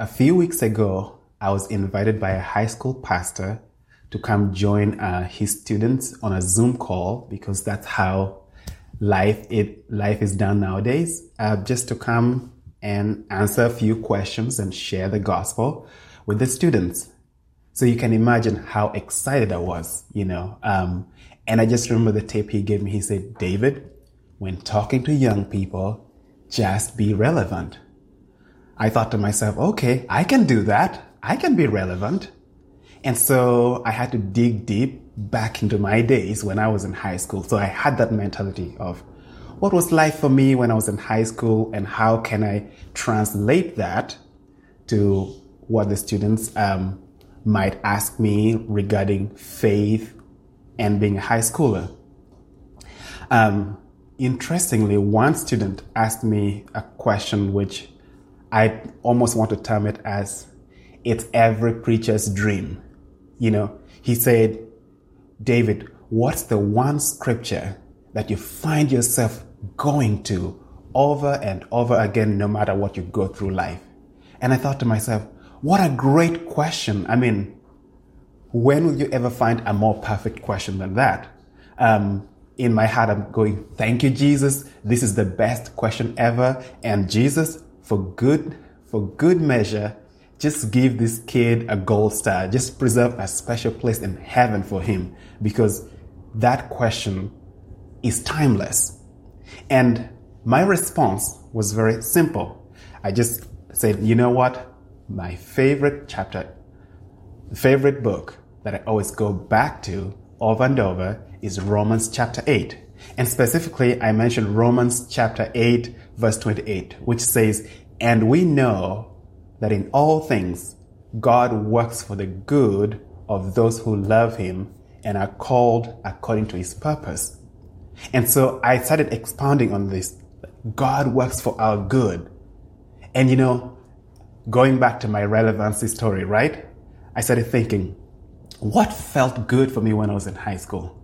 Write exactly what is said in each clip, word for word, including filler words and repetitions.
A few weeks ago, I was invited by a high school pastor to come join uh, his students on a Zoom call, because that's how life it life is done nowadays. Uh, just to come and answer a few questions and share the gospel with the students. So you can imagine how excited I was, you know. Um, and I just remember the tip he gave me. He said, "David, when talking to young people, just be relevant." I thought to myself, okay, I can do that. I can be relevant. And so I had to dig deep back into my days when I was in high school. So I had that mentality of what was life for me when I was in high school, and how can I translate that to what the students um, might ask me regarding faith and being a high schooler. Um, interestingly, one student asked me a question which I almost want to term it as, it's every preacher's dream. You know, he said, "David, what's the one scripture that you find yourself going to over and over again, no matter what you go through life?" And I thought to myself, what a great question. I mean, when will you ever find a more perfect question than that? Um, in my heart, I'm going, thank you, Jesus. This is the best question ever. And Jesus, for good, for good measure, just give this kid a gold star. Just preserve a special place in heaven for him, because that question is timeless. And my response was very simple. I just said, you know what? My favorite chapter, favorite book that I always go back to over and over is Romans chapter eight. And specifically, I mentioned Romans chapter eight, verse twenty-eight, which says, "And we know that in all things, God works for the good of those who love him and are called according to his purpose." And so I started expounding on this. God works for our good. And you know, going back to my relevancy story, right? I started thinking, what felt good for me when I was in high school?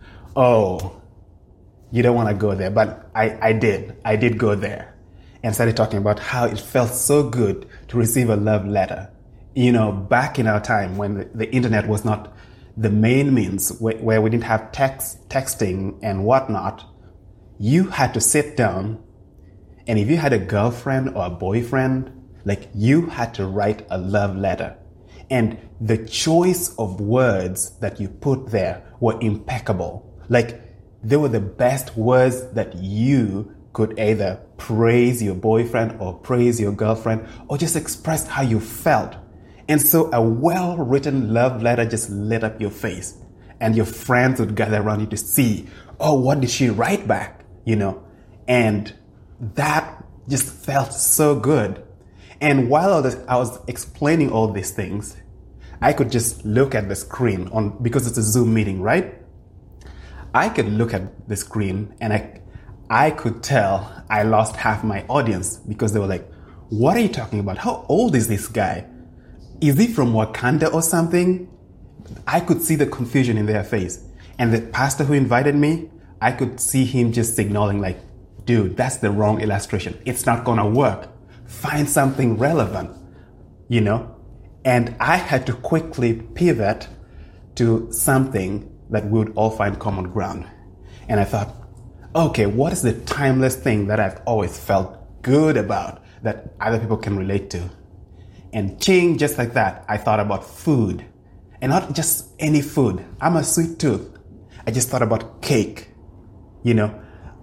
Oh, you don't want to go there, but I, I did. I did go there and started talking about how it felt so good to receive a love letter. You know, back in our time when the, the internet was not the main means, where, where we didn't have text, texting and whatnot, you had to sit down, and if you had a girlfriend or a boyfriend, like, you had to write a love letter. And the choice of words that you put there were impeccable. Like, they were the best words that you could either praise your boyfriend or praise your girlfriend, or just express how you felt. And so a well-written love letter just lit up your face, and your friends would gather around you to see, oh, what did she write back? You know, and that just felt so good. And while I was, I was explaining all these things, I could just look at the screen on, because it's a Zoom meeting, right? I could look at the screen and I, I could tell I lost half my audience, because they were like, what are you talking about? How old is this guy? Is he from Wakanda or something? I could see the confusion in their face. And the pastor who invited me, I could see him just signaling like, dude, that's the wrong illustration. It's not gonna work. Find something relevant, you know? And I had to quickly pivot to something that we would all find common ground. And I thought, okay, what is the timeless thing that I've always felt good about that other people can relate to? And ching, just like that, I thought about food. And not just any food. I'm a sweet tooth. I just thought about cake. You know,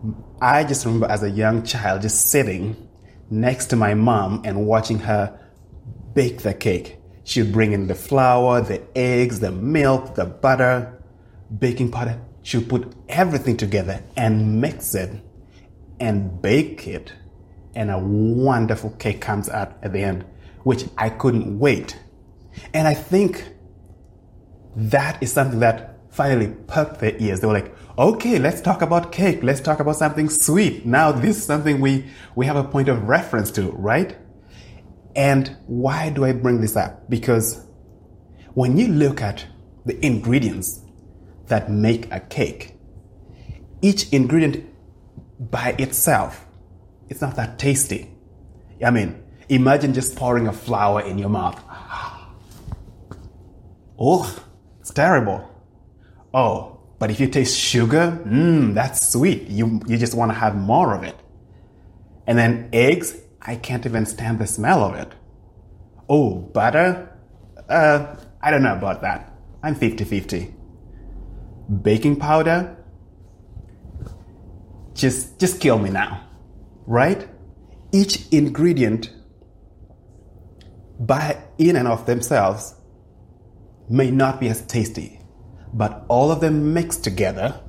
I just remember as a young child just sitting next to my mom and watching her bake the cake. She'd bring in the flour, the eggs, the milk, the butter, baking powder. She'd put everything together and mix it and bake it. And a wonderful cake comes out at the end, which I couldn't wait. And I think that is something that finally perked their ears. They were like, okay, let's talk about cake. Let's talk about something sweet. Now this is something we, we have a point of reference to, right? And why do I bring this up? Because when you look at the ingredients that make a cake, each ingredient by itself, it's not that tasty. I mean, Imagine just pouring a flower in your mouth. Oh, it's terrible. Oh, but if you taste sugar, mmm, that's sweet. You, you just want to have more of it. And then eggs, I can't even stand the smell of it. Oh, butter, uh, I don't know about that. I'm fifty-fifty. Baking powder, just, just kill me now, right? Each ingredient, by in and of themselves, may not be as tasty, but all of them mixed together,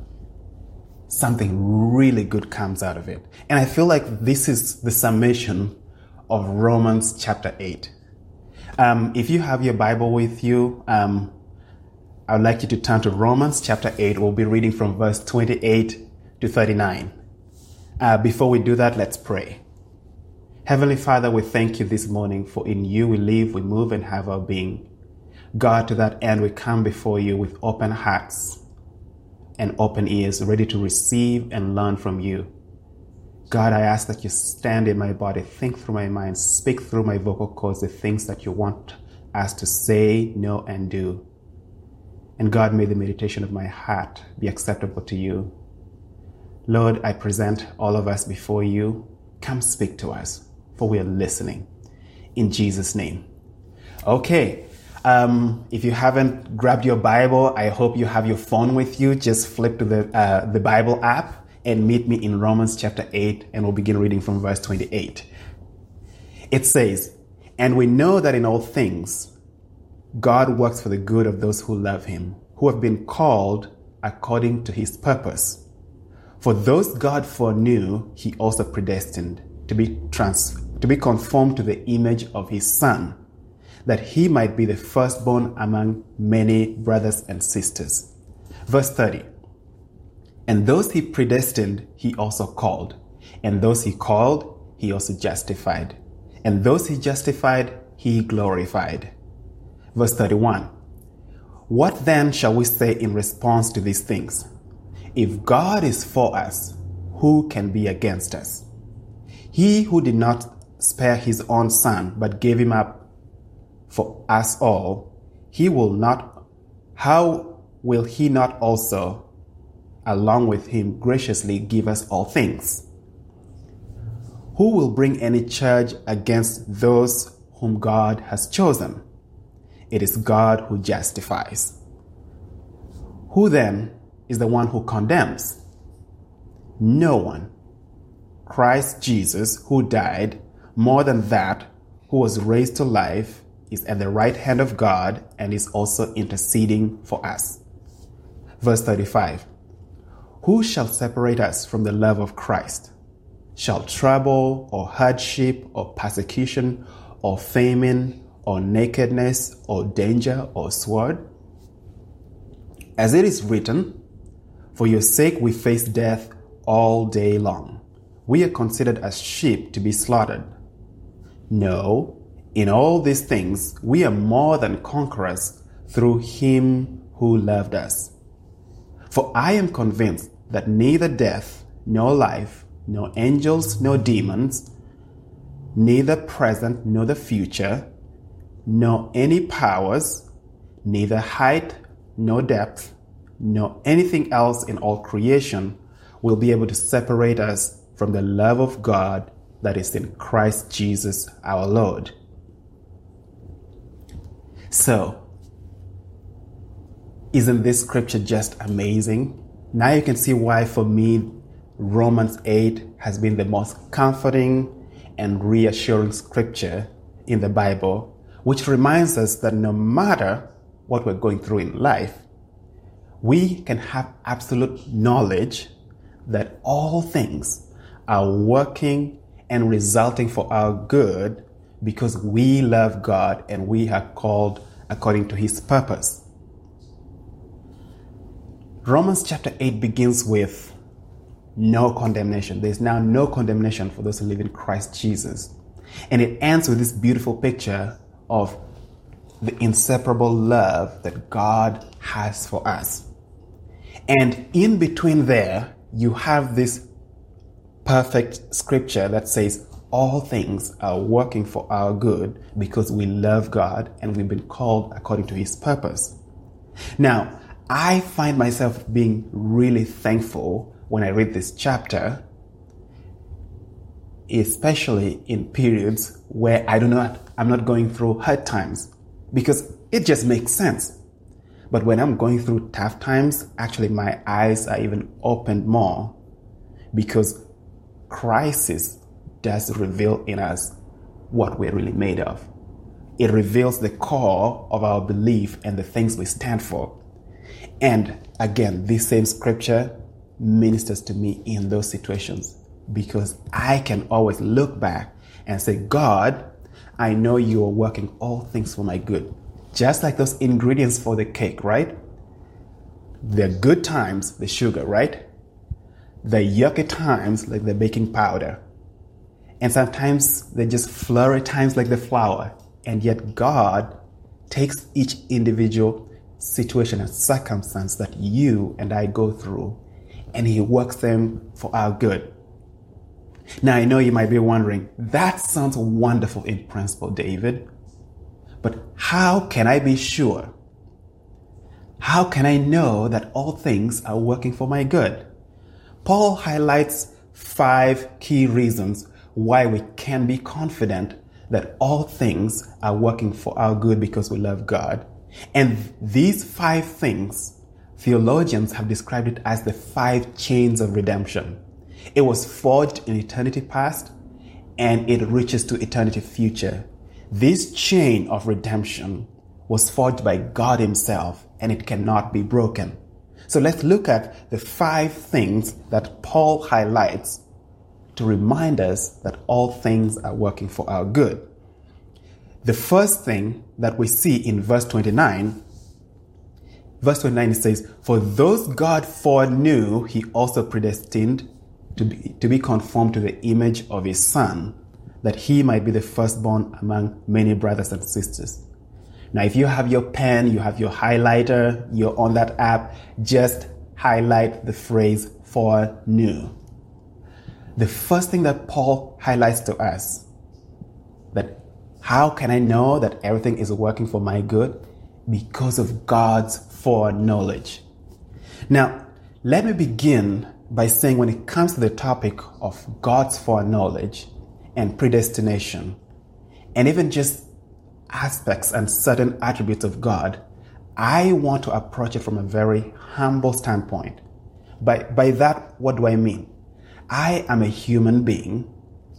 something really good comes out of it. And I feel like this is the summation of Romans chapter eight. Um, if you have your Bible with you, um, I would like you to turn to Romans chapter eight. We'll be reading from verse twenty-eight to thirty-nine. Uh, before we do that, let's pray. Heavenly Father, we thank you this morning, for in you we live, we move, and have our being. God, to that end, we come before you with open hearts and open ears, ready to receive and learn from you. God, I ask that you stand in my body, think through my mind, speak through my vocal cords the things that you want us to say, know, and do. And God, may the meditation of my heart be acceptable to you. Lord, I present all of us before you. Come speak to us, for we are listening. In Jesus' name. Okay. Um, if you haven't grabbed your Bible, I hope you have your phone with you. Just flip to the uh, the Bible app and meet me in Romans chapter eight, and we'll begin reading from verse twenty-eight. It says, "And we know that in all things God works for the good of those who love him, who have been called according to his purpose. For those God foreknew, he also predestined to be trans to be conformed to the image of his Son, that he might be the firstborn among many brothers and sisters." Verse thirty. "And those he predestined, he also called. And those he called, he also justified. And those he justified, he glorified." Verse thirty-one. "What then shall we say in response to these things? If God is for us, who can be against us? He who did not spare his own Son, but gave him up for us all, he will not, how will he not also, along with him, graciously give us all things? Who will bring any charge against those whom God has chosen? It is God who justifies. Who then is the one who condemns? No one. Christ Jesus, who died, more than that, who was raised to life, is at the right hand of God and is also interceding for us." Verse thirty-five. "Who shall separate us from the love of Christ? Shall trouble or hardship or persecution or famine or nakedness or danger or sword? As it is written, for your sake we face death all day long. We are considered as sheep to be slaughtered. No, in all these things we are more than conquerors through him who loved us. For I am convinced that neither death, nor life, nor angels, nor demons, neither present nor the future, nor any powers, neither height nor depth, nor anything else in all creation will be able to separate us from the love of God that is in Christ Jesus our Lord." So, isn't this scripture just amazing? Now you can see why, for me, Romans eight has been the most comforting and reassuring scripture in the Bible, which reminds us that no matter what we're going through in life, we can have absolute knowledge that all things are working and resulting for our good because we love God and we are called according to his purpose. Romans chapter eight begins with no condemnation. There's now no condemnation for those who live in Christ Jesus. And it ends with this beautiful picture of the inseparable love that God has for us. And in between there, you have this perfect scripture that says, all things are working for our good because we love God and we've been called according to his purpose. Now, I find myself being really thankful when I read this chapter, especially in periods where I do not, I'm not going through hard times, because it just makes sense. But when I'm going through tough times, actually my eyes are even opened more, because crisis does reveal in us what we're really made of. It reveals the core of our belief and the things we stand for. And again, this same scripture ministers to me in those situations, because I can always look back and say, God, I know you are working all things for my good. Just like those ingredients for the cake, right? The good times, the sugar, right? The yucky times, like the baking powder. And sometimes they're just flurry times like the flour. And yet God takes each individual situation and circumstance that you and I go through, and he works them for our good. Now, I know you might be wondering, that sounds wonderful in principle, David, but how can I be sure? How can I know that all things are working for my good? Paul highlights five key reasons why we can be confident that all things are working for our good because we love God. And these five things, theologians have described it as the five chains of redemption. It was forged in eternity past, and it reaches to eternity future. This chain of redemption was forged by God himself, and it cannot be broken. So let's look at the five things that Paul highlights to remind us that all things are working for our good. The first thing that we see in verse twenty-nine, verse twenty-nine, it says, "For those God foreknew, he also predestined to be, to be conformed to the image of his Son, that he might be the firstborn among many brothers and sisters." Now, if you have your pen, you have your highlighter, you're on that app, just highlight the phrase "foreknew." The first thing that Paul highlights to us, that how can I know that everything is working for my good? Because of God's foreknowledge. Now, let me begin by saying, when it comes to the topic of God's foreknowledge and predestination, and even just aspects and certain attributes of God, I want to approach it from a very humble standpoint. By, by that, what do I mean? I am a human being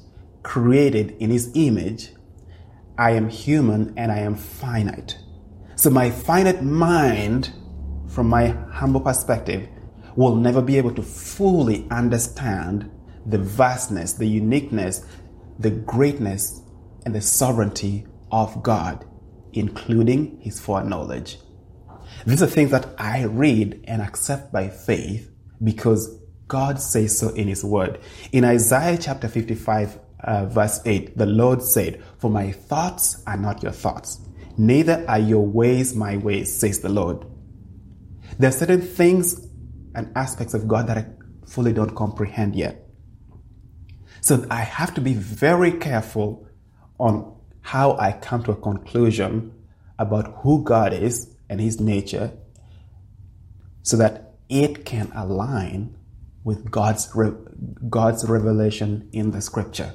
created in his image. I am human and I am finite. So my finite mind, from my humble perspective, will never be able to fully understand the vastness, the uniqueness, the greatness, and the sovereignty of God, including his foreknowledge. These are things that I read and accept by faith because God says so in his word. In Isaiah chapter fifty-five, uh, verse eight, the Lord said, "For my thoughts are not your thoughts, neither are your ways my ways, says the Lord." There are certain things and aspects of God that I fully don't comprehend yet. So I have to be very careful on how I come to a conclusion about who God is and his nature, so that it can align with God's re- God's revelation in the scripture.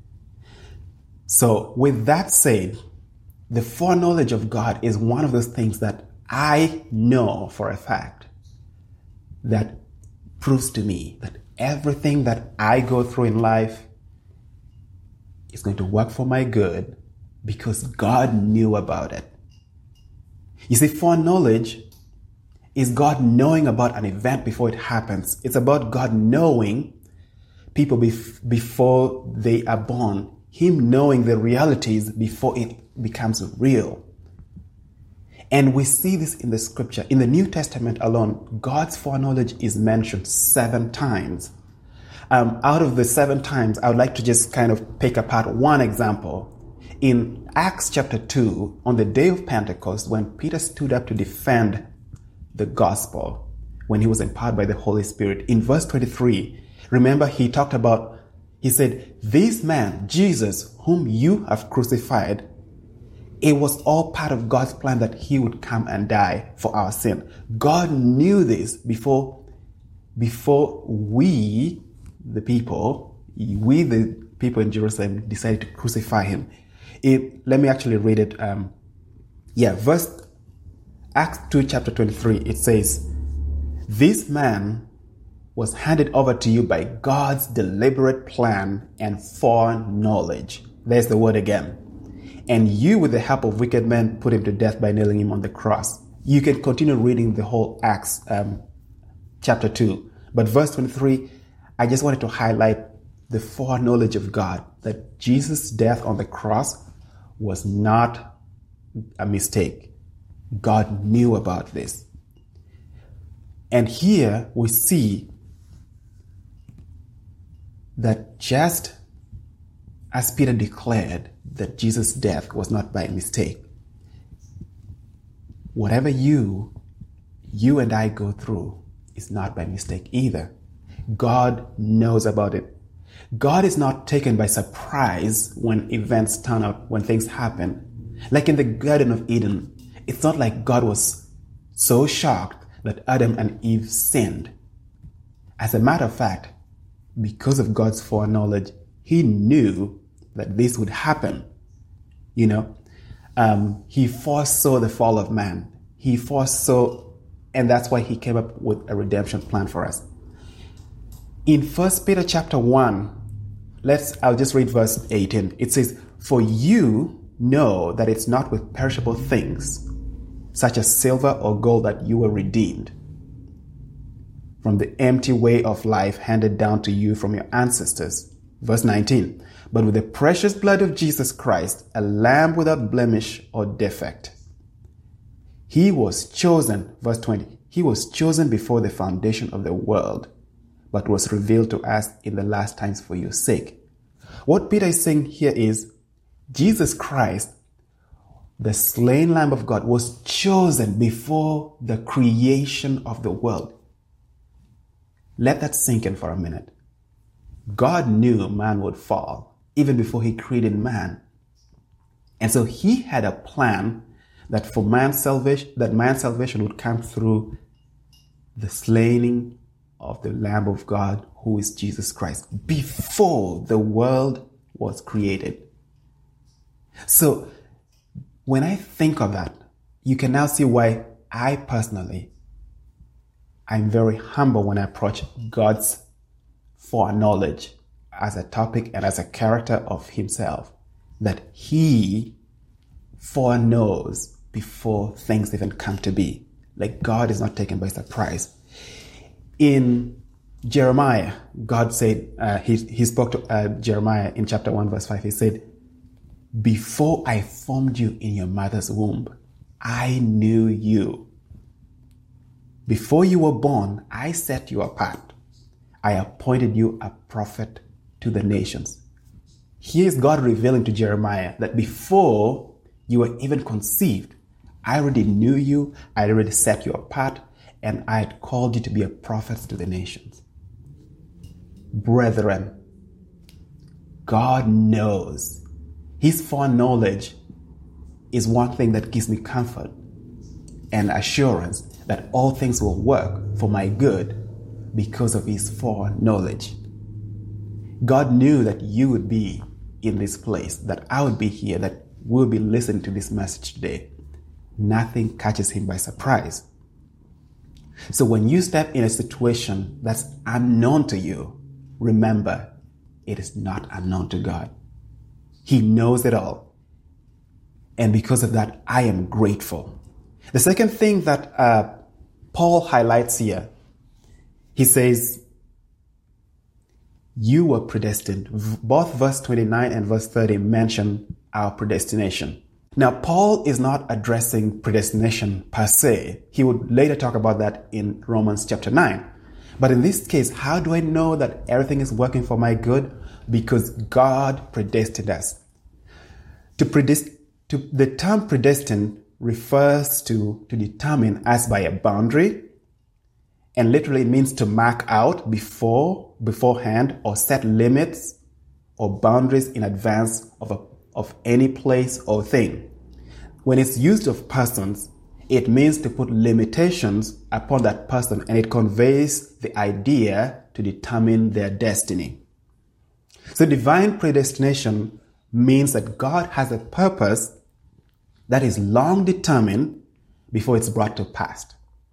So with that said, the foreknowledge of God is one of those things that I know for a fact that proves to me that everything that I go through in life is going to work for my good because God knew about it. You see, foreknowledge is God knowing about an event before it happens. It's about God knowing people bef- before they are born. Him knowing the realities before it becomes real. And we see this in the scripture. In the New Testament alone, God's foreknowledge is mentioned seven times. Um, out of the seven times, I would like to just kind of pick apart one example. In Acts chapter two, on the day of Pentecost, when Peter stood up to defend the gospel, when he was empowered by the Holy Spirit, in verse twenty-three, remember he talked about He said, this man, Jesus, whom you have crucified, it was all part of God's plan that he would come and die for our sin. God knew this before, before we, the people, we, the people in Jerusalem, decided to crucify him. It, let me actually read it. Um, yeah, verse Acts two, chapter twenty-three, it says, this man was handed over to you by God's deliberate plan and foreknowledge. There's the word again. And you, with the help of wicked men, put him to death by nailing him on the cross. You can continue reading the whole Acts um, chapter two. But verse twenty-three, I just wanted to highlight the foreknowledge of God, that Jesus' death on the cross was not a mistake. God knew about this. And here we see that just as Peter declared that Jesus' death was not by mistake, whatever you, you and I go through is not by mistake either. God knows about it. God is not taken by surprise when events turn out, when things happen. Like in the Garden of Eden, it's not like God was so shocked that Adam and Eve sinned. As a matter of fact, because of God's foreknowledge, he knew that this would happen. You know, um, he foresaw the fall of man. He foresaw, and that's why he came up with a redemption plan for us. In First Peter chapter one, let's, I'll just read verse eighteen. It says, for you know that it's not with perishable things, such as silver or gold, that you were redeemed from the empty way of life handed down to you from your ancestors. Verse nineteen, but with the precious blood of Jesus Christ, a lamb without blemish or defect. He was chosen, verse twenty, he was chosen before the foundation of the world, but was revealed to us in the last times for your sake. What Peter is saying here is, Jesus Christ, the slain Lamb of God, was chosen before the creation of the world. Let that sink in for a minute. God knew man would fall even before he created man. And so he had a plan that for man's salvation, that man's salvation would come through the slaying of the Lamb of God, who is Jesus Christ, before the world was created. So when I think of that, you can now see why I personally, I'm very humble when I approach God's foreknowledge as a topic and as a character of himself, that he foreknows before things even come to be. Like God is not taken by surprise. In Jeremiah, God said, uh, he, he spoke to uh, Jeremiah in chapter one, verse five. He said, before I formed you in your mother's womb, I knew you. Before you were born, I set you apart. I appointed you a prophet to the nations. Here is God revealing to Jeremiah that before you were even conceived, I already knew you, I already set you apart, and I had called you to be a prophet to the nations. Brethren, God knows. His foreknowledge is one thing that gives me comfort and assurance that all things will work for my good because of his foreknowledge. God knew that you would be in this place, that I would be here, that we'll be listening to this message today. Nothing catches him by surprise. So when you step in a situation that's unknown to you, remember, it is not unknown to God. He knows it all. And because of that, I am grateful. The second thing that uh, Paul highlights here, he says, you were predestined. Both verse twenty-nine and verse thirty mention our predestination. Now, Paul is not addressing predestination per se. He would later talk about that in Romans chapter nine. But in this case, how do I know that everything is working for my good? Because God predestined us. To predest- to, the term predestined refers to, to determine as by a boundary, and literally means to mark out before, beforehand, or set limits or boundaries in advance of, a, of any place or thing. When it's used of persons, it means to put limitations upon that person, and it conveys the idea to determine their destiny. So divine predestination means that God has a purpose that is long determined before it's brought to pass.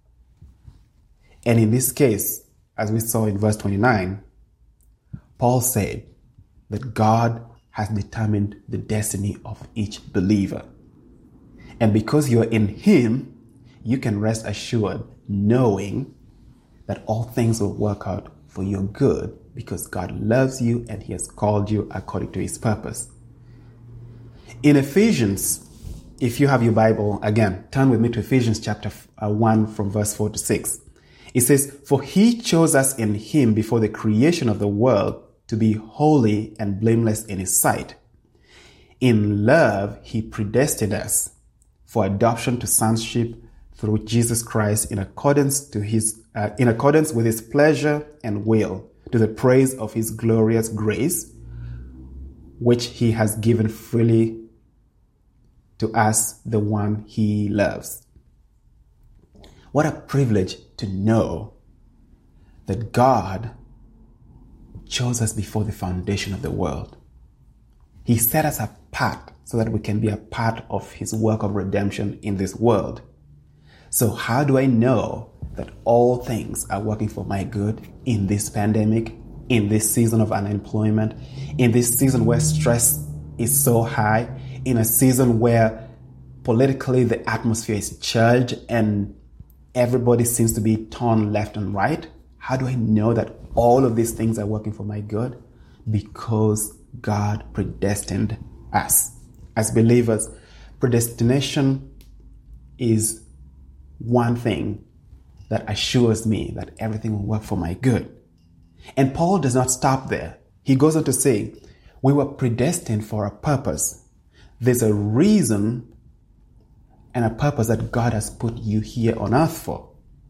And in this case, as we saw in verse twenty-nine, Paul said that God has determined the destiny of each believer. And because you're in Him, you can rest assured knowing that all things will work out for your good because God loves you and He has called you according to His purpose. In Ephesians, if you have your Bible, again, turn with me to Ephesians chapter one from verse four to six. It says, "For He chose us in Him before the creation of the world to be holy and blameless in His sight. In love, He predestined us for adoption to sonship through Jesus Christ in accordance to His, uh, in accordance with His pleasure and will, to the praise of His glorious grace, which He has given freely to us, the one He loves." What a privilege to know that God chose us before the foundation of the world. He set us apart so that we can be a part of His work of redemption in this world. So how do I know that all things are working for my good in this pandemic, in this season of unemployment, in this season where stress is so high, in a season where politically the atmosphere is charged and everybody seems to be torn left and right? How do I know that all of these things are working for my good? Because God predestined us. As believers, predestination is one thing that assures me that everything will work for my good. And Paul does not stop there. He goes on to say, we were predestined for a purpose. There's a reason and a purpose that God has put you here on earth for.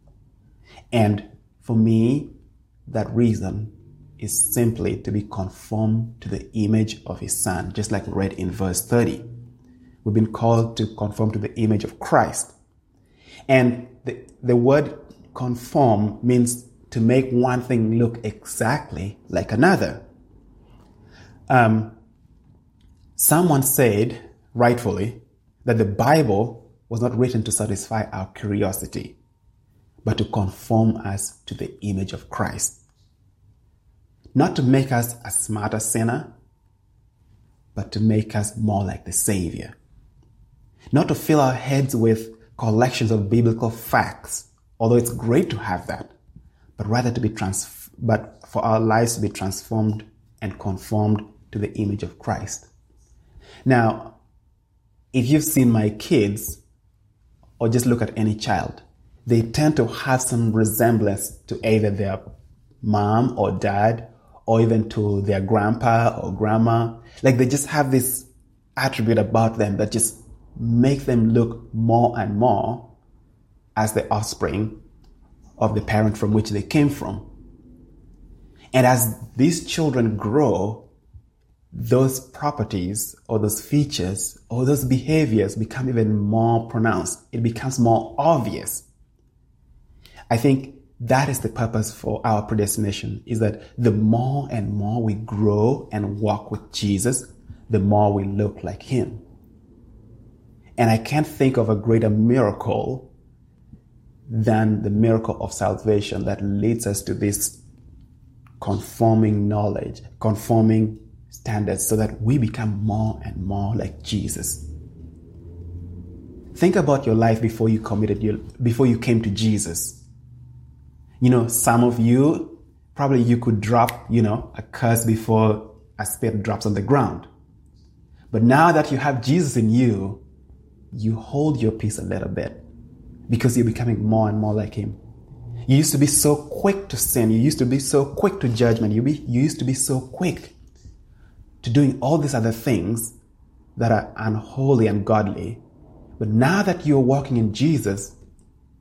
And for me, that reason is simply to be conformed to the image of His Son, just like we read in verse thirty. We've been called to conform to the image of Christ. And the, the word conform means to make one thing look exactly like another. Um, someone said, rightfully, that the Bible was not written to satisfy our curiosity, but to conform us to the image of Christ. Not to make us a smarter sinner, but to make us more like the Savior. Not to fill our heads with collections of biblical facts, although it's great to have that, but rather to be trans- but for our lives to be transformed and conformed to the image of Christ. Now, if you've seen my kids, or just look at any child, they tend to have some resemblance to either their mom or dad, or even to their grandpa or grandma. Like they just have this attribute about them that just make them look more and more as the offspring of the parent from which they came from. And as these children grow, those properties or those features or those behaviors become even more pronounced. It becomes more obvious. I think that is the purpose for our predestination, is that the more and more we grow and walk with Jesus, the more we look like Him. And I can't think of a greater miracle than the miracle of salvation that leads us to this conforming knowledge, conforming standards, so that we become more and more like Jesus. Think about your life before you committed your, before you came to Jesus. You know, some of you, probably you could drop, you know, a curse before a spade drops on the ground. But now that you have Jesus in you, you hold your peace a little bit because you're becoming more and more like Him. You used to be so quick to sin. You used to be so quick to judgment. You, be, you used to be so quick to doing all these other things that are unholy and ungodly. But now that you're walking in Jesus,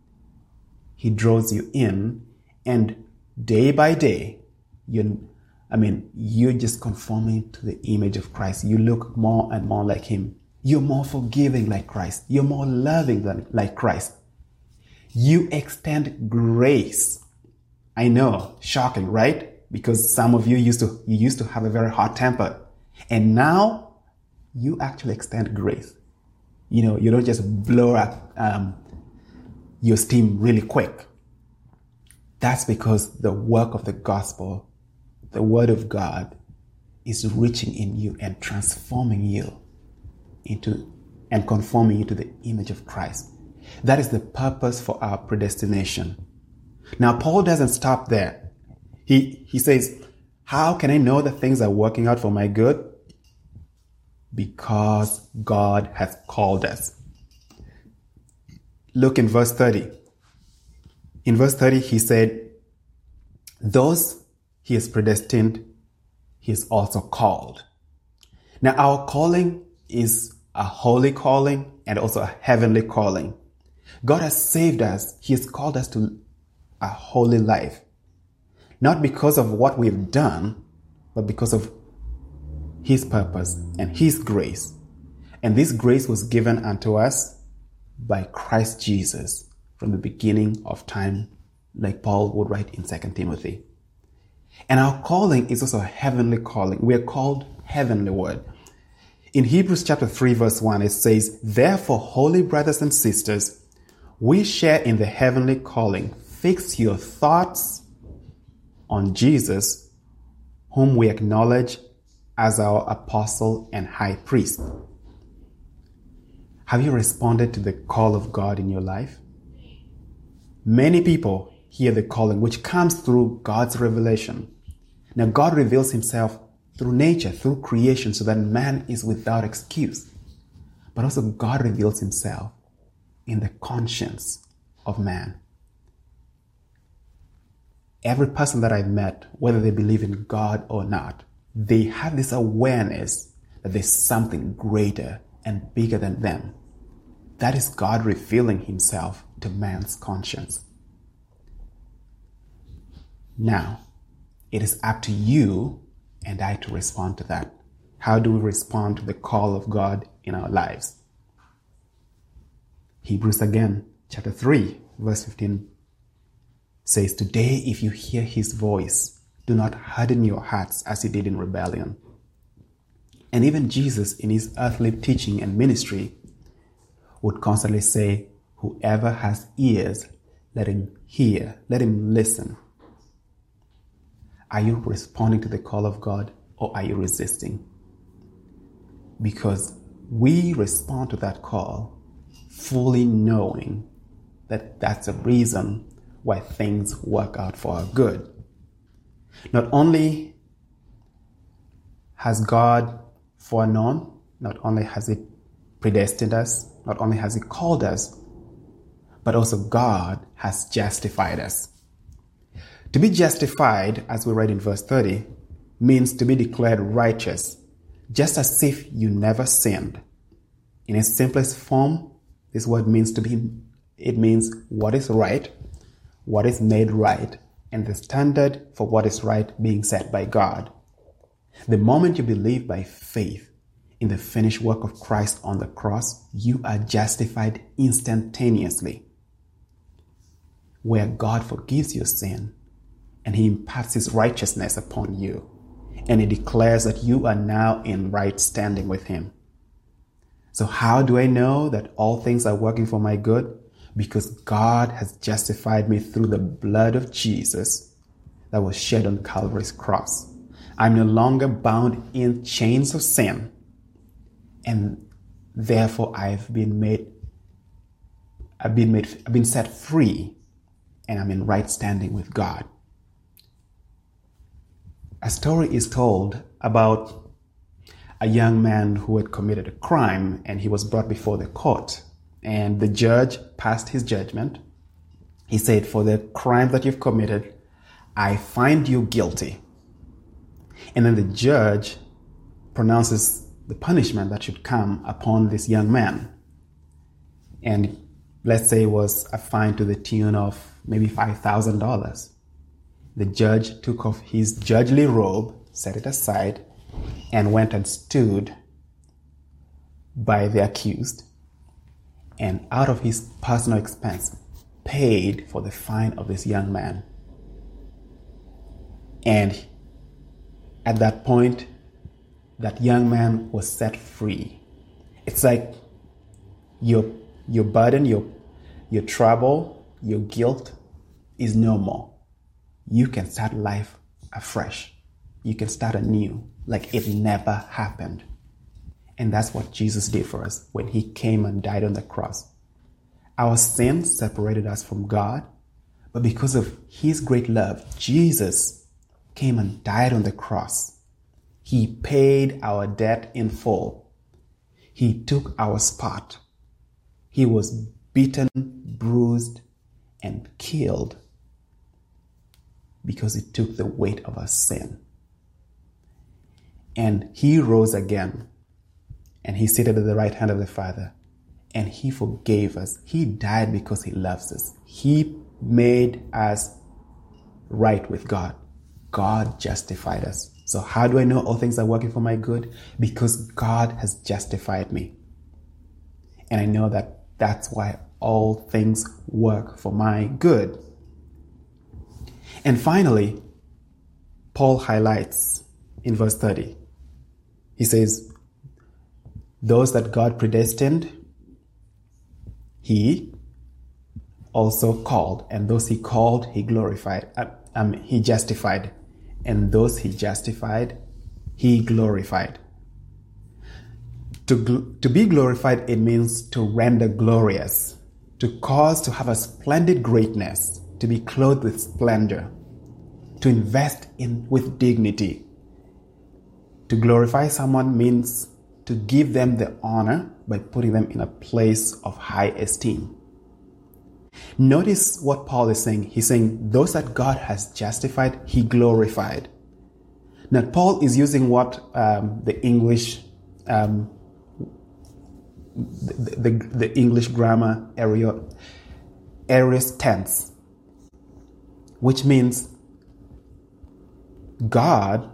He draws you in, and day by day, you I mean, you're just conforming to the image of Christ. You look more and more like him. You're more forgiving like Christ. You're more loving than like Christ. You extend grace. I know, shocking, right? Because some of you used to you used to have a very hot temper, and now you actually extend grace. You know, you don't just blow up um, your steam really quick. That's because the work of the gospel, the word of God, is reaching in you and transforming you into and conforming you to the image of Christ. That is the purpose for our predestination. Now, Paul doesn't stop there. He, he says, how can I know that things are working out for my good? Because God has called us. Look in verse thirty. In verse thirty, he said, those he has predestined, he is also called. Now, our calling is a holy calling and also a heavenly calling. God has saved us. He has called us to a holy life. Not because of what we've done, but because of his purpose and his grace. And this grace was given unto us by Christ Jesus from the beginning of time, like Paul would write in Second Timothy. And our calling is also a heavenly calling. We are called heavenward. In Hebrews chapter three, verse one, it says, therefore, holy brothers and sisters, we share in the heavenly calling. Fix your thoughts on Jesus, whom we acknowledge as our apostle and high priest. Have you responded to the call of God in your life? Many people hear the calling, which comes through God's revelation. Now, God reveals himself through nature, through creation, so that man is without excuse. But also God reveals himself in the conscience of man. Every person that I've met, whether they believe in God or not, they have this awareness that there's something greater and bigger than them. That is God revealing himself to man's conscience. Now, it is up to you and I to respond to that. How do we respond to the call of God in our lives? Hebrews again, chapter three, verse fifteen says, today if you hear his voice, do not harden your hearts as you did in rebellion. And even Jesus in his earthly teaching and ministry would constantly say, whoever has ears, let him hear, let him listen. Are you responding to the call of God or are you resisting? Because we respond to that call fully knowing that that's a reason why things work out for our good. Not only has God foreknown, not only has he predestined us, not only has he called us, but also God has justified us. To be justified, as we read in verse thirty, means to be declared righteous, just as if you never sinned. In its simplest form, this word means to be, it means what is right, what is made right, and the standard for what is right being set by God. The moment you believe by faith in the finished work of Christ on the cross, you are justified instantaneously. Where God forgives your sin and he imparts his righteousness upon you, and he declares that you are now in right standing with him. So how do I know that all things are working for my good? Because God has justified me through the blood of Jesus that was shed on Calvary's cross. I'm no longer bound in chains of sin, and therefore I've been made, I've been made, I've been set free, and I'm in right standing with God. A story is told about a young man who had committed a crime, and he was brought before the court. And the judge passed his judgment. He said, for the crime that you've committed, I find you guilty. And then the judge pronounces the punishment that should come upon this young man. And let's say it was a fine to the tune of maybe five thousand dollars. The judge took off his judgely robe set it aside, and went and stood by the accused, and out of his personal expense paid for the fine of this young man. And at that point, that young man was set free. It's like your your burden, your your trouble, your guilt is no more. You can start life afresh. You can start anew, like it never happened. And that's what Jesus did for us when he came and died on the cross. Our sins separated us from God, but because of his great love, Jesus came and died on the cross. He paid our debt in full. He took our spot. He was beaten, bruised, and killed because he took the weight of our sin. And he rose again, and he seated at the right hand of the Father, and he forgave us. He died because he loves us. He made us right with God. God justified us. So how do I know all things are working for my good? Because God has justified me. And I know that that's why all things work for my good. And finally, Paul highlights in verse thirty. He says, those that God predestined, he also called. And those he called, he glorified. Um, he justified. And those he justified, he glorified. To, gl- to be glorified, it means to render glorious, to cause to have a splendid greatness, to be clothed with splendor, to invest in with dignity. To glorify someone means to give them the honor by putting them in a place of high esteem. Notice what Paul is saying. He's saying those that God has justified, he glorified. Now, Paul is using what um, the English um, the, the, the English grammar area aorist tense, which means God,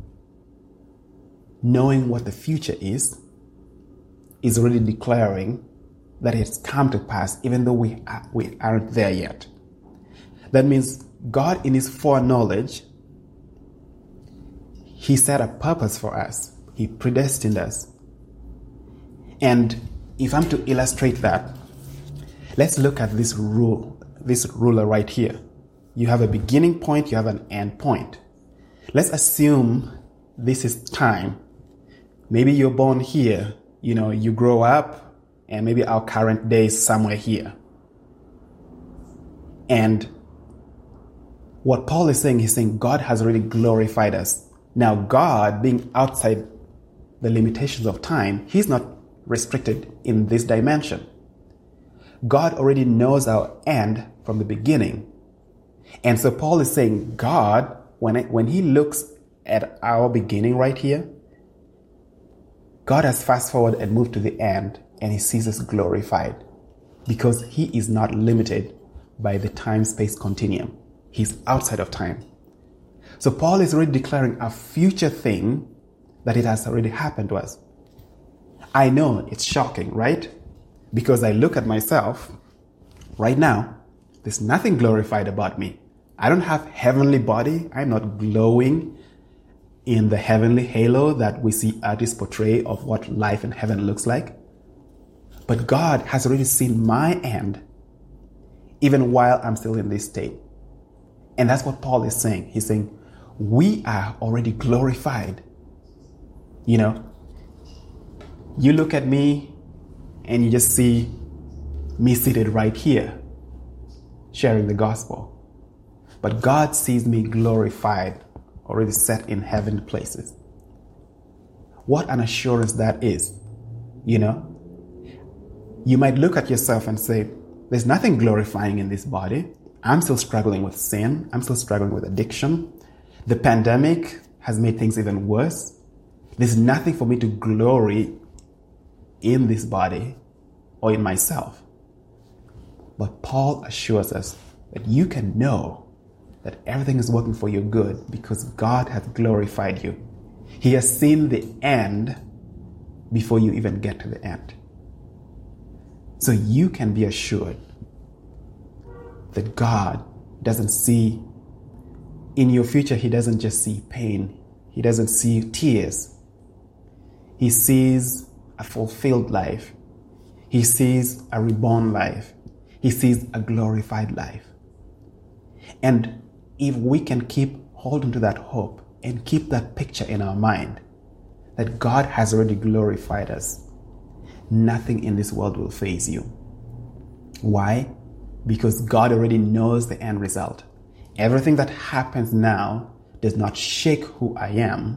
knowing what the future is, is already declaring that it's come to pass, even though we, are, we aren't there yet. That means God, in his foreknowledge, he set a purpose for us. He predestined us. And if I'm to illustrate that, let's look at this rule, this ruler right here. You have a beginning point, you have an end point. Let's assume this is time. Maybe you're born here, you know, you grow up, and maybe our current day is somewhere here. And what Paul is saying, he's saying God has already glorified us. Now, God, being outside the limitations of time, he's not restricted in this dimension. God already knows our end from the beginning. And so Paul is saying God, when, it, when he looks at our beginning right here, God has fast forwarded and moved to the end, and he sees us glorified because he is not limited by the time-space continuum. He's outside of time. So Paul is already declaring a future thing that it has already happened to us. I know it's shocking, right? Because I look at myself right now, there's nothing glorified about me. I don't have heavenly body. I'm not glowing in the heavenly halo that we see artists portray of what life in heaven looks like. But God has already seen my end, even while I'm still in this state. And that's what Paul is saying. He's saying, we are already glorified. You know, you look at me and you just see me seated right here, sharing the gospel. But God sees me glorified, already set in heavenly places. What an assurance that is, you know? You might look at yourself and say, there's nothing glorifying in this body. I'm still struggling with sin. I'm still struggling with addiction. The pandemic has made things even worse. There's nothing for me to glory in this body or in myself. But Paul assures us that you can know that everything is working for your good because God has glorified you. He has seen the end before you even get to the end. So you can be assured that God doesn't see in your future. He doesn't just see pain. He doesn't see tears. He sees a fulfilled life. He sees a reborn life. He sees a glorified life. And if we can keep holding to that hope and keep that picture in our mind that God has already glorified us, nothing in this world will faze you. Why? Because God already knows the end result. Everything that happens now does not shake who I am,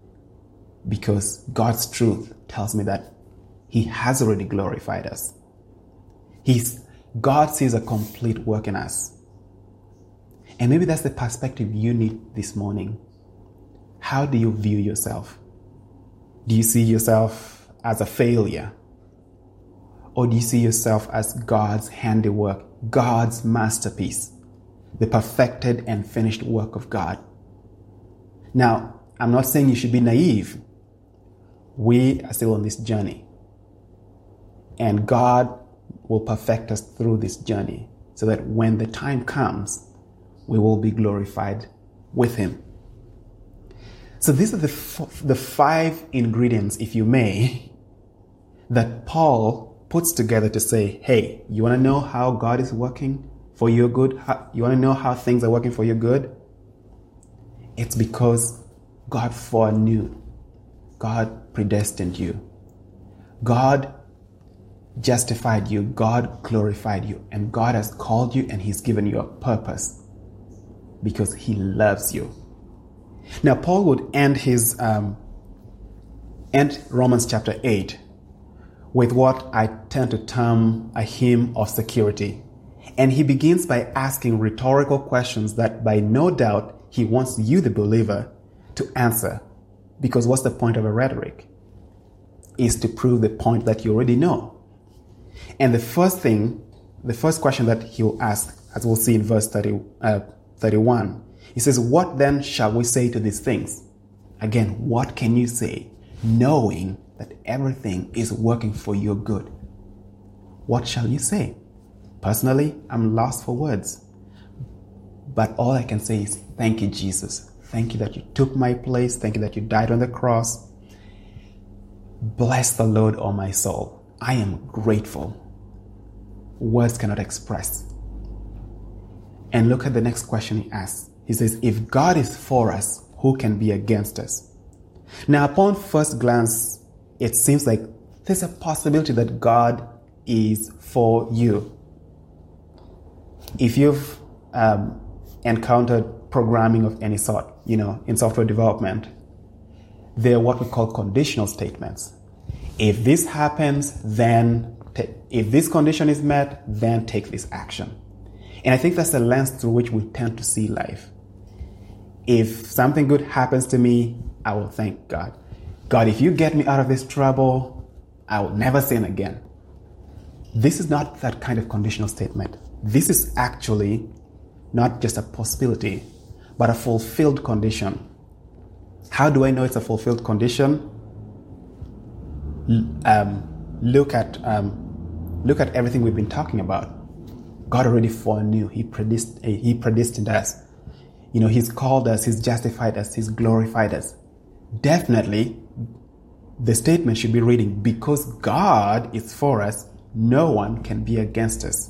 because God's truth tells me that He has already glorified us. He's, God sees a complete work in us. And maybe that's the perspective you need this morning. How do you view yourself? Do you see yourself as a failure? Or do you see yourself as God's handiwork, God's masterpiece, the perfected and finished work of God? Now, I'm not saying you should be naive. We are still on this journey. And God will perfect us through this journey so that when the time comes, we will be glorified with Him. So these are the, f- the five ingredients, if you may, that Paul puts together to say, hey, you want to know how God is working for your good? How, you want to know how things are working for your good? It's because God foreknew. God predestined you. God justified you. God glorified you. And God has called you and He's given you a purpose because He loves you. Now, Paul would end his um, end Romans chapter eight with what I tend to term a hymn of security. And he begins by asking rhetorical questions that by no doubt he wants you, the believer, to answer. Because what's the point of a rhetoric? Is to prove the point that you already know. And the first thing, the first question that he'll ask, as we'll see in verse thirty, uh, thirty-one, he says, what then shall we say to these things? Again, what can you say, knowing that everything is working for your good? What shall you say? Personally, I'm lost for words. But all I can say is, thank you, Jesus. Thank you that you took my place. Thank you that you died on the cross. Bless the Lord, O my soul. I am grateful. Words cannot express. And look at the next question he asks. He says, if God is for us, who can be against us? Now, upon first glance, it seems like there's a possibility that God is for you. If you've um, encountered programming of any sort, you know, in software development, they're what we call conditional statements. If this happens, then t- if this condition is met, then take this action. And I think that's the lens through which we tend to see life. If something good happens to me, I will thank God. God, if you get me out of this trouble, I will never sin again. This is not that kind of conditional statement. This is actually not just a possibility, but a fulfilled condition. How do I know it's a fulfilled condition? Um, look at um, look at everything we've been talking about. God already foreknew. He predestined, he predestined us. You know, He's called us, He's justified us, He's glorified us. Definitely, the statement should be reading, because God is for us, no one can be against us.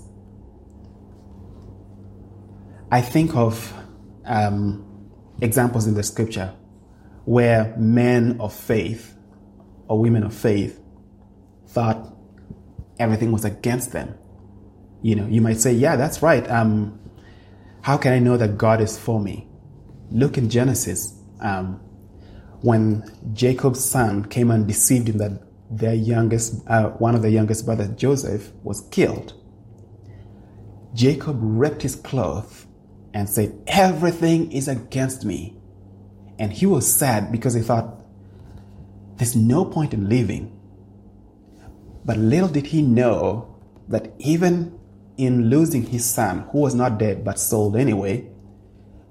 I think of um, examples in the scripture where men of faith or women of faith thought everything was against them. You know, you might say, yeah, that's right. Um, how can I know that God is for me? Look in Genesis. Um, when Jacob's son came and deceived him that their youngest, uh, one of the youngest brothers, Joseph, was killed, Jacob ripped his cloth and said, everything is against me. And he was sad because he thought, there's no point in living. But little did he know that even in losing his son, who was not dead but sold anyway,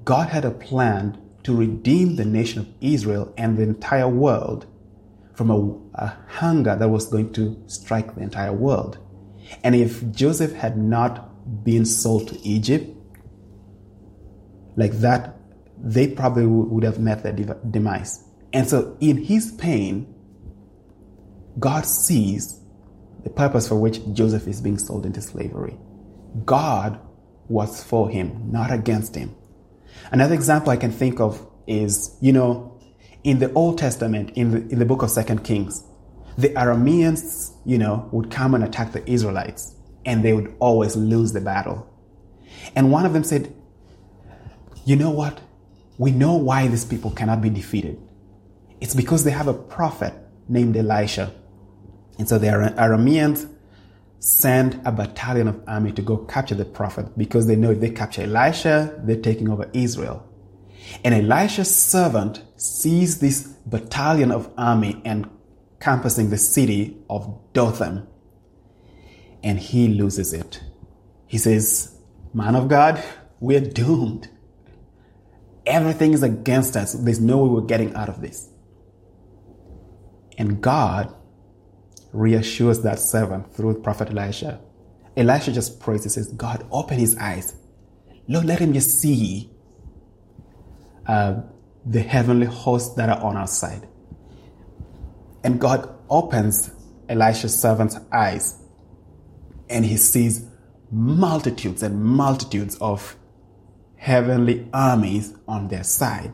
God had a plan to redeem the nation of Israel and the entire world from a, a hunger that was going to strike the entire world. And if Joseph had not been sold to Egypt, like that, they probably would have met their demise. And so in his pain, God sees the purpose for which Joseph is being sold into slavery. God was for him, not against him. Another example I can think of is, you know, in the Old Testament, in the, in the book of Second Kings, the Arameans, you know, would come and attack the Israelites, and they would always lose the battle. And one of them said, you know what? We know why these people cannot be defeated. It's because they have a prophet named Elisha. And so the Arameans send a battalion of army to go capture the prophet, because they know if they capture Elisha, they're taking over Israel. And Elisha's servant sees this battalion of army encompassing the city of Dothan, and he loses it. He says, man of God, we're doomed. Everything is against us. There's no way we're getting out of this. And God reassures that servant through Prophet Elisha. Elisha just prays. He says, God, open his eyes. Lord, let him just see uh, the heavenly hosts that are on our side. And God opens Elisha's servant's eyes, and he sees multitudes and multitudes of heavenly armies on their side.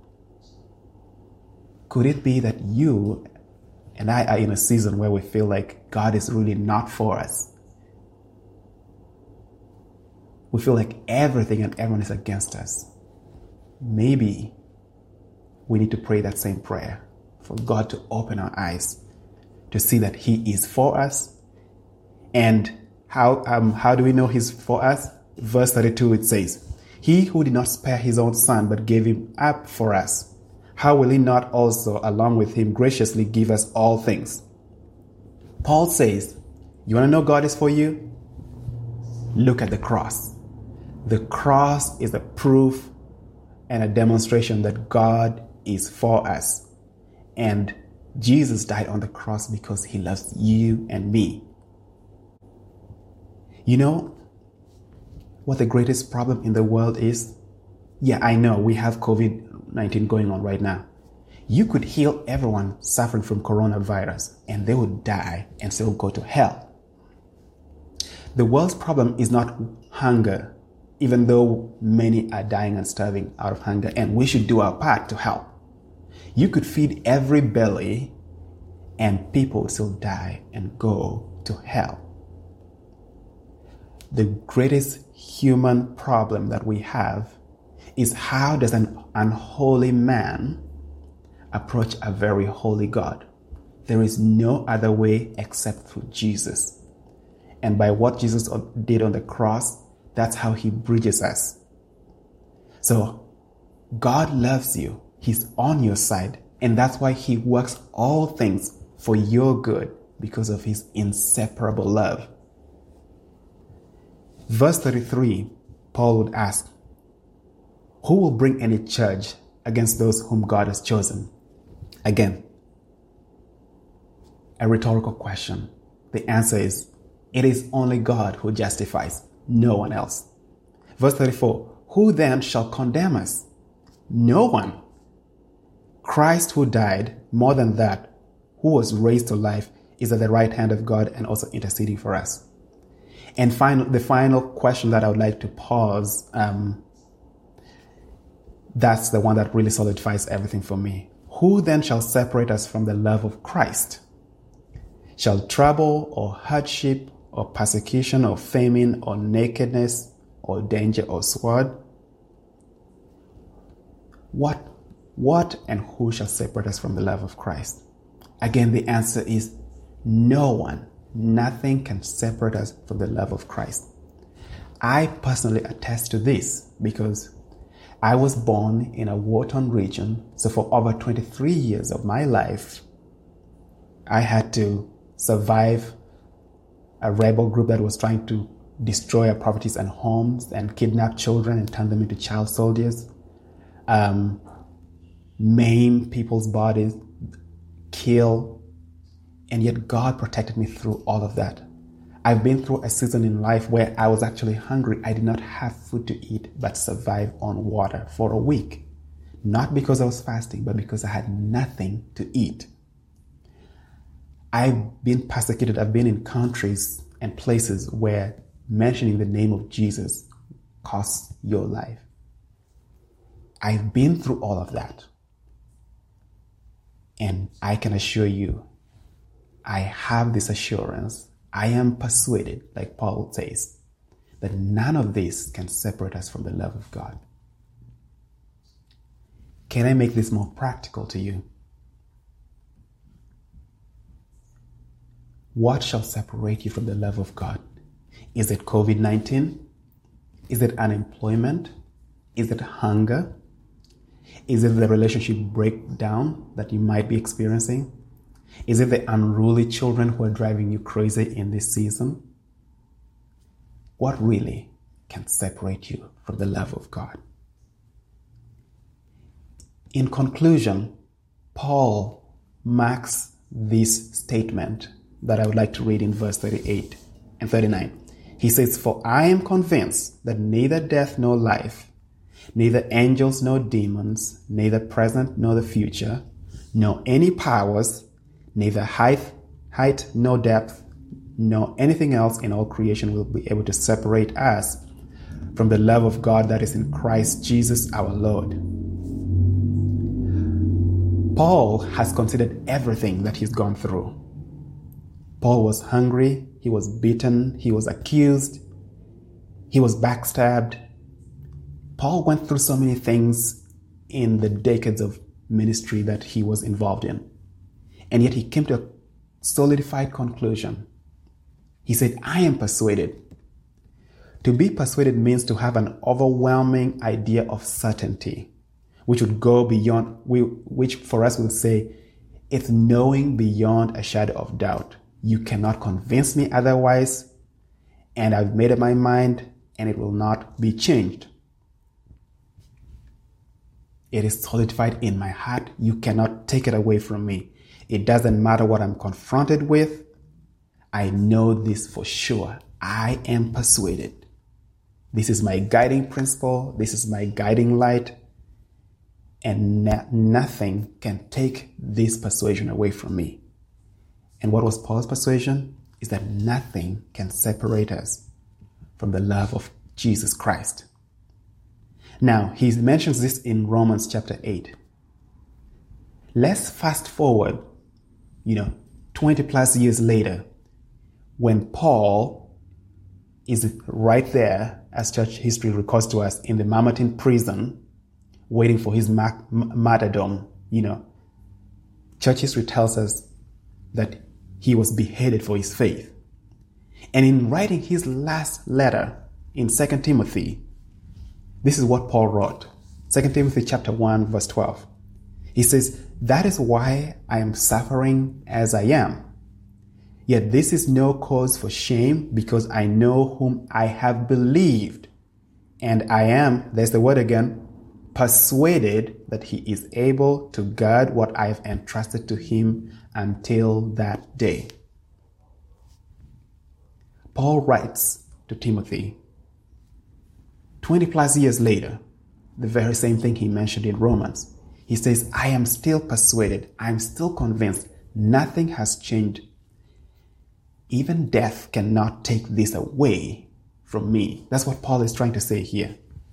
Could it be that you and I are in a season where we feel like God is really not for us? We feel like everything and everyone is against us. Maybe we need to pray that same prayer for God to open our eyes to see that He is for us. And how um, how do we know He's for us? Verse thirty-two, it says, He who did not spare His own Son, but gave Him up for us, how will He not also, along with Him, graciously give us all things? Paul says, you want to know God is for you? Look at the cross. The cross is a proof and a demonstration that God is for us. And Jesus died on the cross because He loves you and me. You know what the greatest problem in the world is? Yeah, I know we have covid nineteen going on right now. You could heal everyone suffering from coronavirus and they would die and still go to hell. The world's problem is not hunger, even though many are dying and starving out of hunger, and we should do our part to help. You could feed every belly and people will still die and go to hell. The greatest human problem that we have is, how does an unholy man approach a very holy God? There is no other way except through Jesus. And by what Jesus did on the cross, that's how He bridges us. So God loves you. He's on your side. And that's why He works all things for your good, because of His inseparable love. Verse thirty-three, Paul would ask, who will bring any charge against those whom God has chosen? Again, a rhetorical question. The answer is, it is only God who justifies, no one else. Verse thirty-four, who then shall condemn us? No one. Christ, who died, more than that, who was raised to life, is at the right hand of God and also interceding for us. And final, the final question that I would like to pause, um, that's the one that really solidifies everything for me. Who then shall separate us from the love of Christ? Shall trouble or hardship or persecution or famine or nakedness or danger or sword? What, what and who shall separate us from the love of Christ? Again, the answer is no one. Nothing can separate us from the love of Christ. I personally attest to this because I was born in a war-torn region. So for over twenty-three years of my life, I had to survive a rebel group that was trying to destroy our properties and homes and kidnap children and turn them into child soldiers, um, maim people's bodies, kill, and yet God protected me through all of that. I've been through a season in life where I was actually hungry. I did not have food to eat, but survive on water for a week. Not because I was fasting, but because I had nothing to eat. I've been persecuted. I've been in countries and places where mentioning the name of Jesus costs your life. I've been through all of that. And I can assure you, I have this assurance, I am persuaded, like Paul says, that none of this can separate us from the love of God. Can I make this more practical to you? What shall separate you from the love of God? Is it covid nineteen? Is it unemployment? Is it hunger? Is it the relationship breakdown that you might be experiencing? Is it the unruly children who are driving you crazy in this season? What really can separate you from the love of God? In conclusion, Paul marks this statement that I would like to read in verse thirty-eight and thirty-nine. He says, "For I am convinced that neither death nor life, neither angels nor demons, neither present nor the future, nor any powers, neither height, height nor depth, nor anything else in all creation will be able to separate us from the love of God that is in Christ Jesus our Lord." Paul has considered everything that he's gone through. Paul was hungry, he was beaten, he was accused, he was backstabbed. Paul went through so many things in the decades of ministry that he was involved in. And yet he came to a solidified conclusion. He said, "I am persuaded." To be persuaded means to have an overwhelming idea of certainty, which would go beyond, which for us would say, it's knowing beyond a shadow of doubt. You cannot convince me otherwise, and I've made up my mind, and it will not be changed. It is solidified in my heart. You cannot take it away from me. It doesn't matter what I'm confronted with. I know this for sure. I am persuaded. This is my guiding principle. This is my guiding light. And no- nothing can take this persuasion away from me. And what was Paul's persuasion? Is that nothing can separate us from the love of Jesus Christ. Now, he mentions this in Romans chapter eight. Let's fast forward, you know, twenty plus years later, when Paul is right there, as church history records to us, in the Mamertine prison, waiting for his ma- martyrdom. You know, church history tells us that he was beheaded for his faith. And in writing his last letter in Second Timothy, this is what Paul wrote. Second Timothy chapter one, verse twelve. He says, "That is why I am suffering as I am. Yet this is no cause for shame, because I know whom I have believed. And I am," there's the word again, "persuaded that he is able to guard what I have entrusted to him until that day." Paul writes to Timothy twenty plus years later, the very same thing he mentioned in Romans. He says, "I am still persuaded. I am still convinced. Nothing has changed. Even death cannot take this away from me." That's what Paul is trying to say here.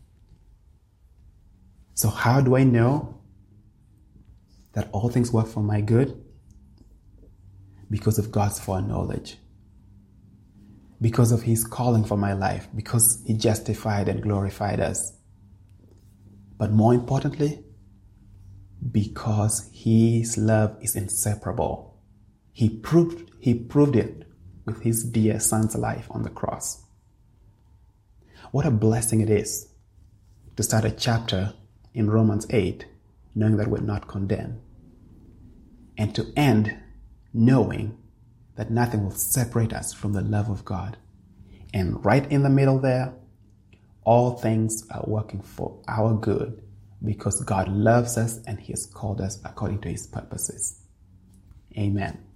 So how do I know that all things work for my good? Because of God's foreknowledge. Because of his calling for my life. Because he justified and glorified us. But more importantly, because his love is inseparable. He proved, he proved it with his dear son's life on the cross. What a blessing it is to start a chapter in Romans eight, knowing that we're not condemned, and to end knowing that nothing will separate us from the love of God, And right in the middle there, all things are working for our good because God loves us and He has called us according to His purposes. Amen.